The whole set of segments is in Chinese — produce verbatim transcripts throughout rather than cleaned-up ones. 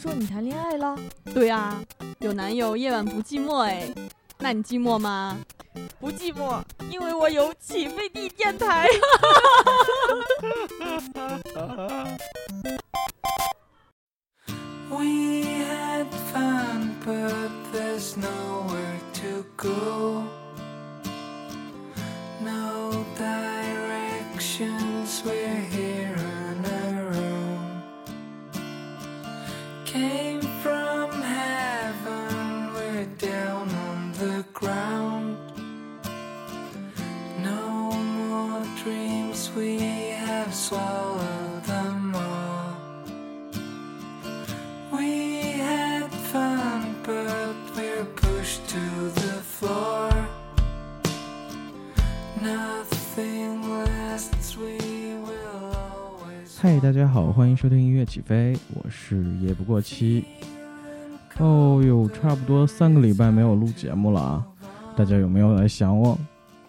说你谈恋爱了？ 对啊，有男友夜晚不寂寞哎，那你寂寞吗？ 不寂寞，因为我有起飞地电台。 We had fun, but there's nowhere to go. No directions, we're here on our own. Came from heaven, we're down on the ground. No more dreams, we have swallowed them all.We had fun, but we're pushed to the floor. Nothing lasts, we will always. 嗨，大家好，欢迎收听音乐起飞，我是也不过期。哦哟，差不多三个礼拜没有录节目了啊，大家有没有来想我？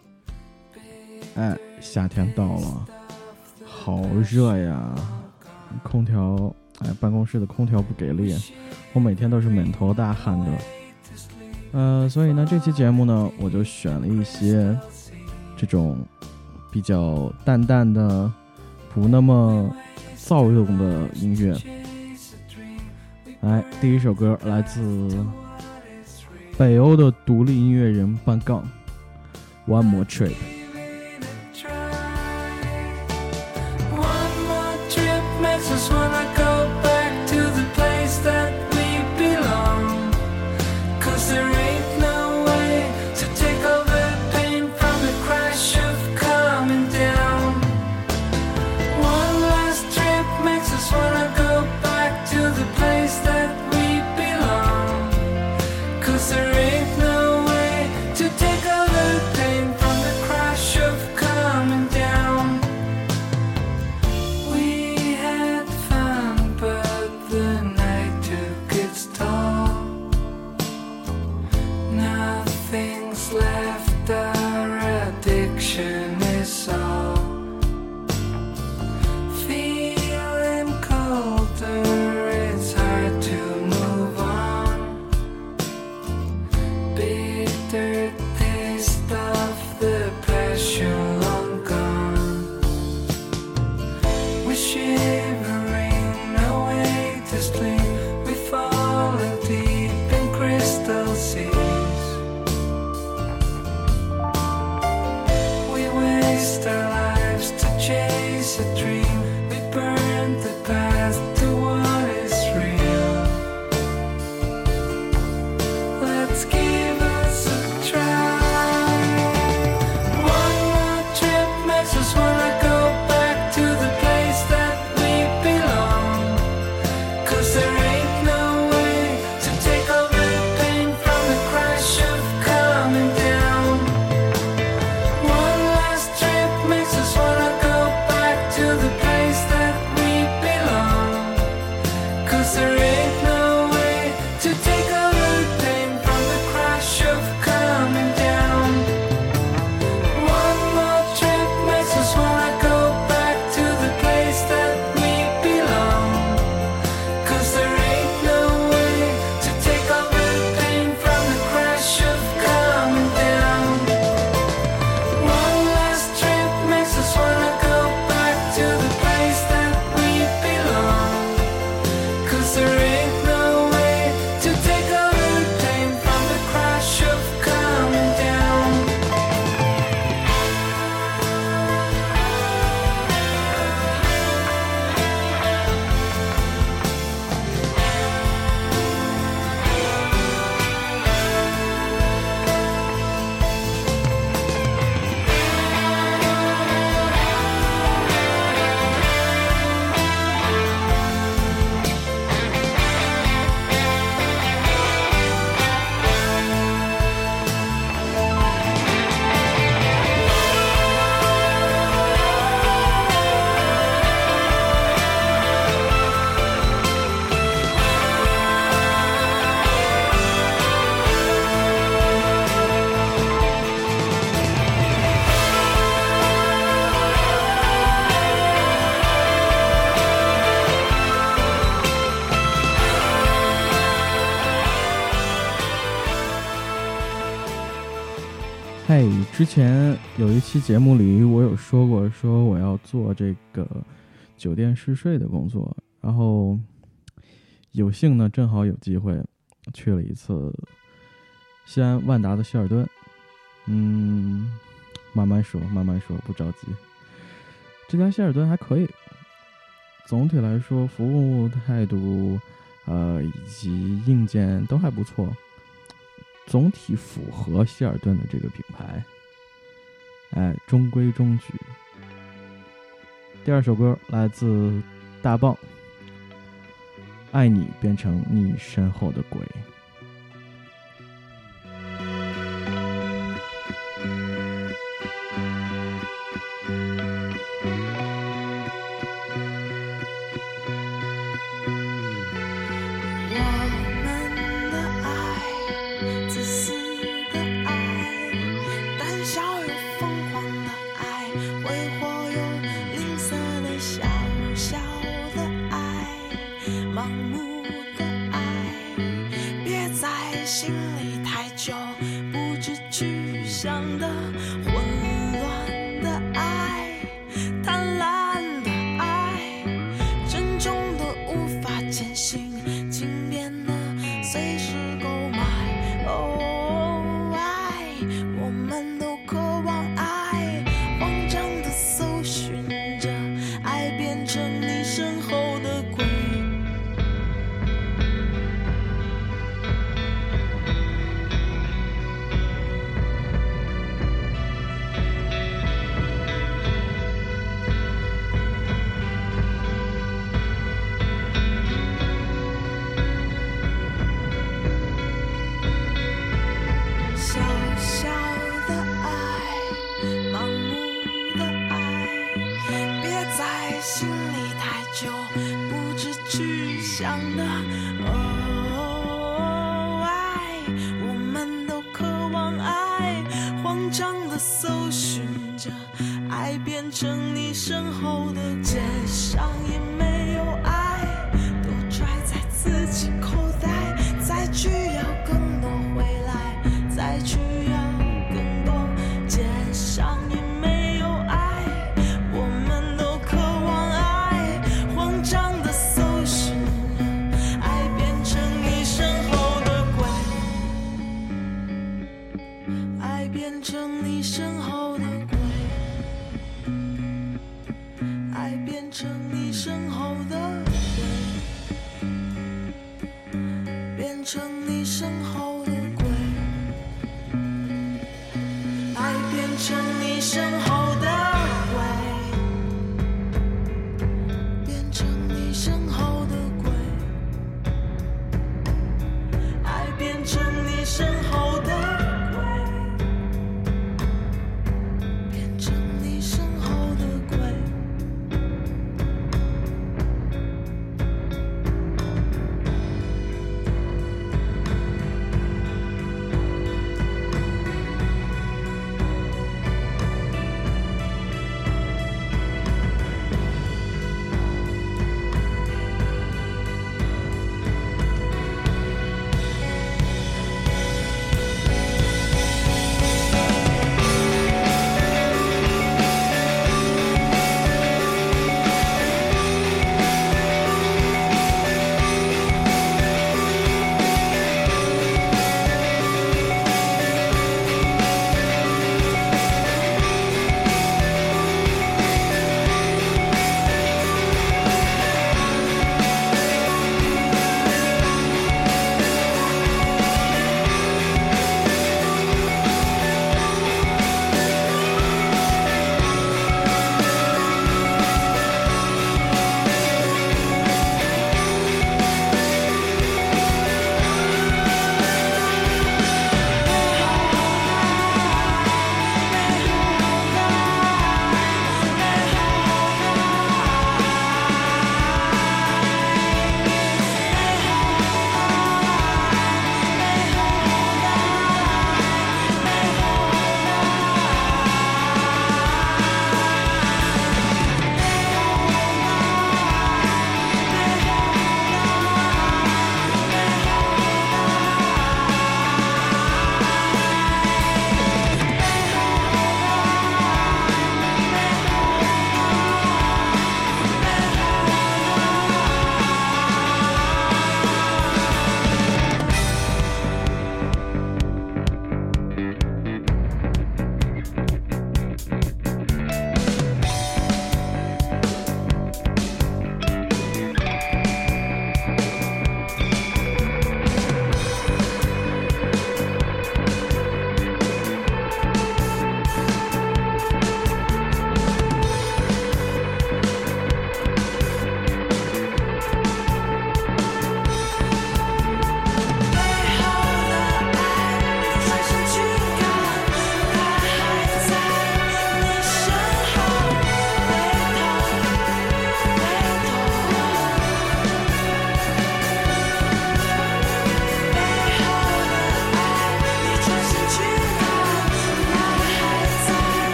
哎，夏天到了，好热呀，空调。哎，办公室的空调不给力，我每天都是满头大汗的。呃，所以呢，这期节目呢，我就选了一些这种比较淡淡的、不那么躁动的音乐。来，第一首歌来自北欧的独立音乐人班杠 ，One More Trip 之前有一期节目里我有说过，说我要做这个酒店试睡的工作，然后有幸呢正好有机会去了一次西安万达的希尔顿。嗯，慢慢说慢慢说，不着急。这家希尔顿还可以，总体来说服务态度呃以及硬件都还不错，总体符合希尔顿的这个品牌，哎，中规中矩。第二首歌来自大棒，爱你变成你身后的鬼。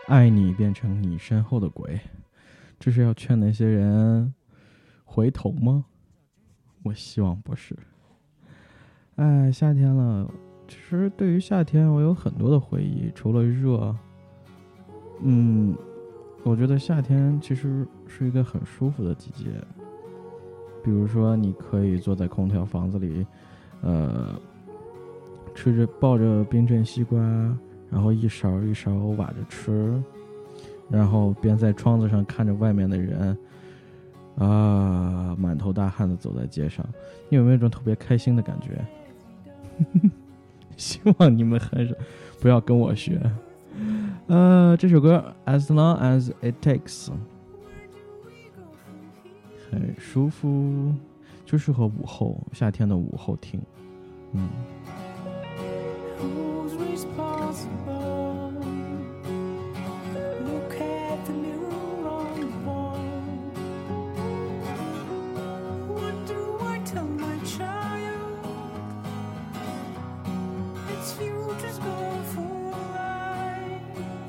爱你变成你身后的鬼，这是要劝那些人回头吗？我希望不是。哎，夏天了，其实对于夏天我有很多的回忆，除了热，嗯，我觉得夏天其实是一个很舒服的季节。比如说你可以坐在空调房子里，呃，吃着抱着冰镇西瓜，然后一勺一勺挖着吃，然后边在窗子上看着外面的人啊，满头大汗的走在街上，你有没有一种特别开心的感觉？希望你们还是不要跟我学。呃，这首歌 As Long As It Takes 很舒服，就适合午后，夏天的午后听。嗯。 Who's responsible? Look at the mirror on the wall. What do I tell my child? Its future's gone for life.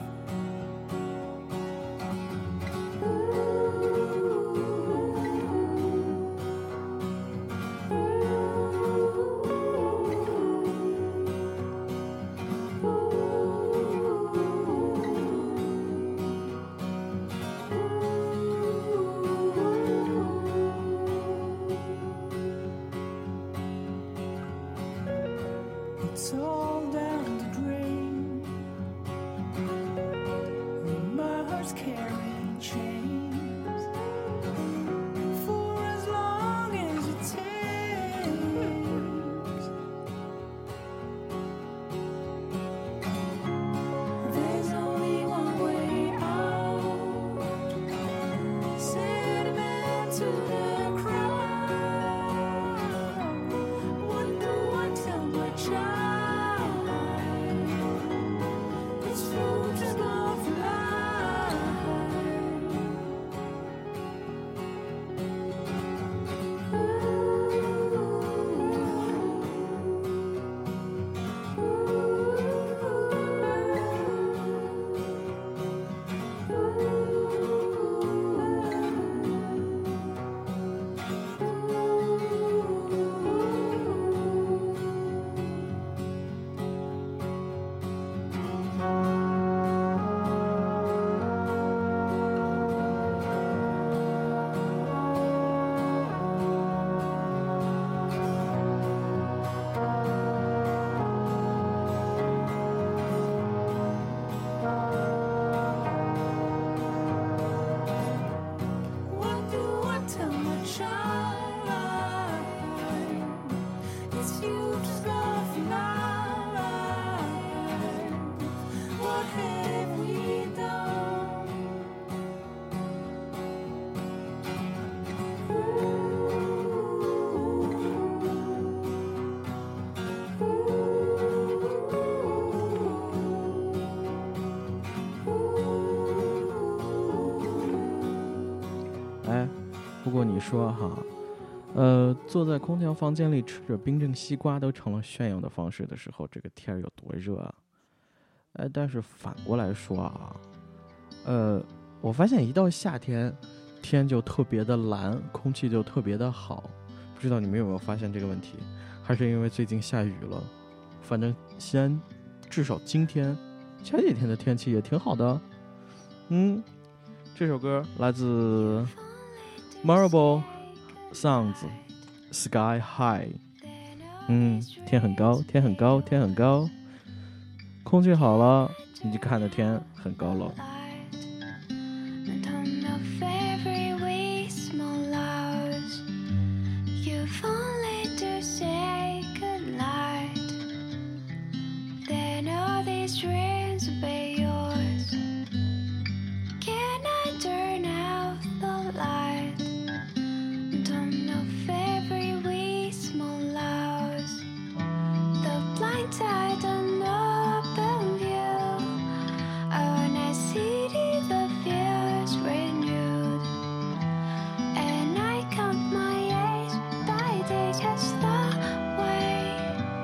It's all down the drain. My heart's carrying chains for as long as it takes. There's only one way out. Sediment to the crowd. What do I tell my child? It's future's gone for life. What do I tell my child? It's future's gone for life. What have we done? Ooh. 哎，不过你说哈，呃，坐在空调房间里吃着冰镇西瓜都成了炫耀的方式的时候，这个天儿有多热啊！哎，但是反过来说啊，呃，我发现一到夏天，天就特别的蓝，空气就特别的好。不知道你们有没有发现这个问题？还是因为最近下雨了？反正西安至少今天、前几天的天气也挺好的。嗯，这首歌来自 Marble Sounds Sky High。嗯，天很高，天很高，天很高，空气好了，你就看着天很高了。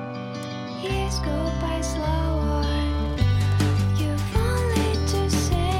Years go by slower. You've only to say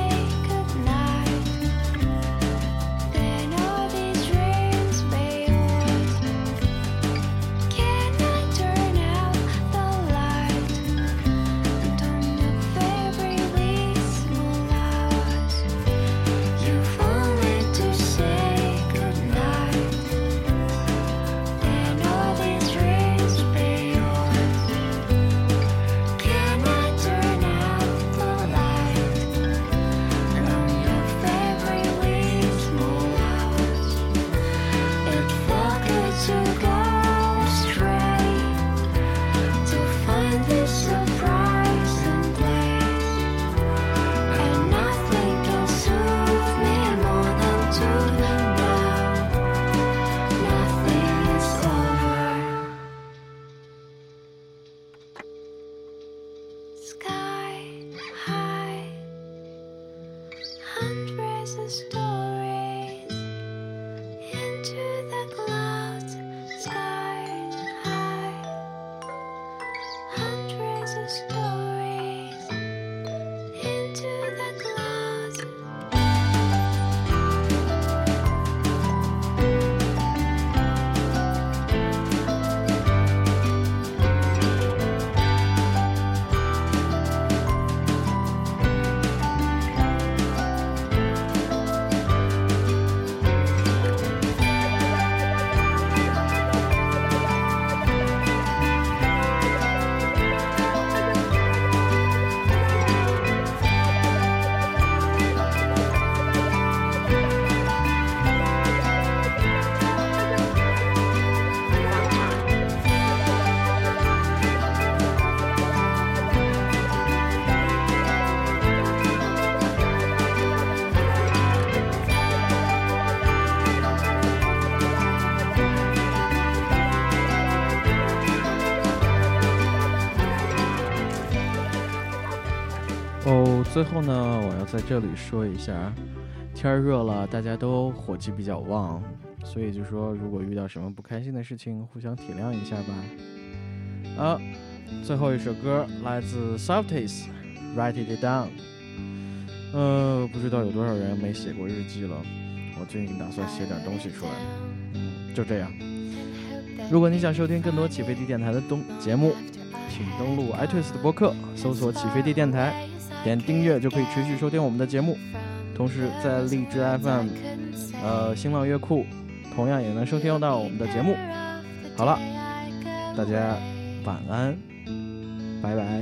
最后呢，我要在这里说一下，天儿热了，大家都火气比较旺，所以就说如果遇到什么不开心的事情，互相体谅一下吧。啊，最后一首歌来自 Softies Write It Down。呃，不知道有多少人没写过日记了，我最近打算写点东西出来。嗯，就这样。如果你想收听更多起飞地电台的东节目，请登录 iTunes 的播客，搜索起飞地电台，点订阅就可以持续收听我们的节目。同时在荔枝 F M、呃新浪乐库，同样也能收听到我们的节目。好了，大家晚安，拜拜。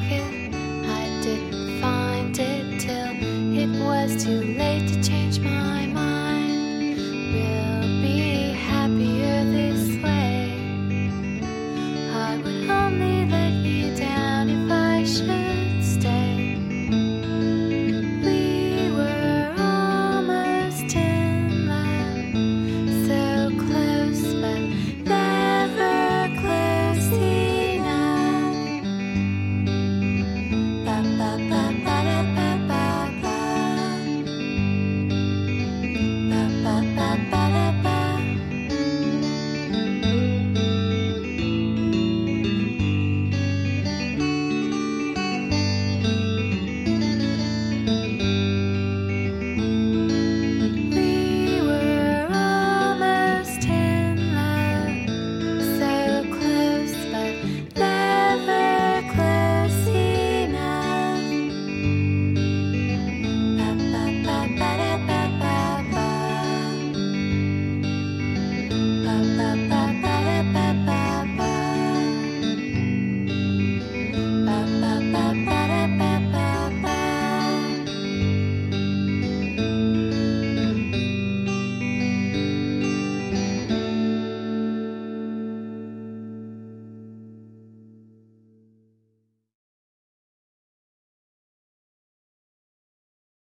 Too late to change my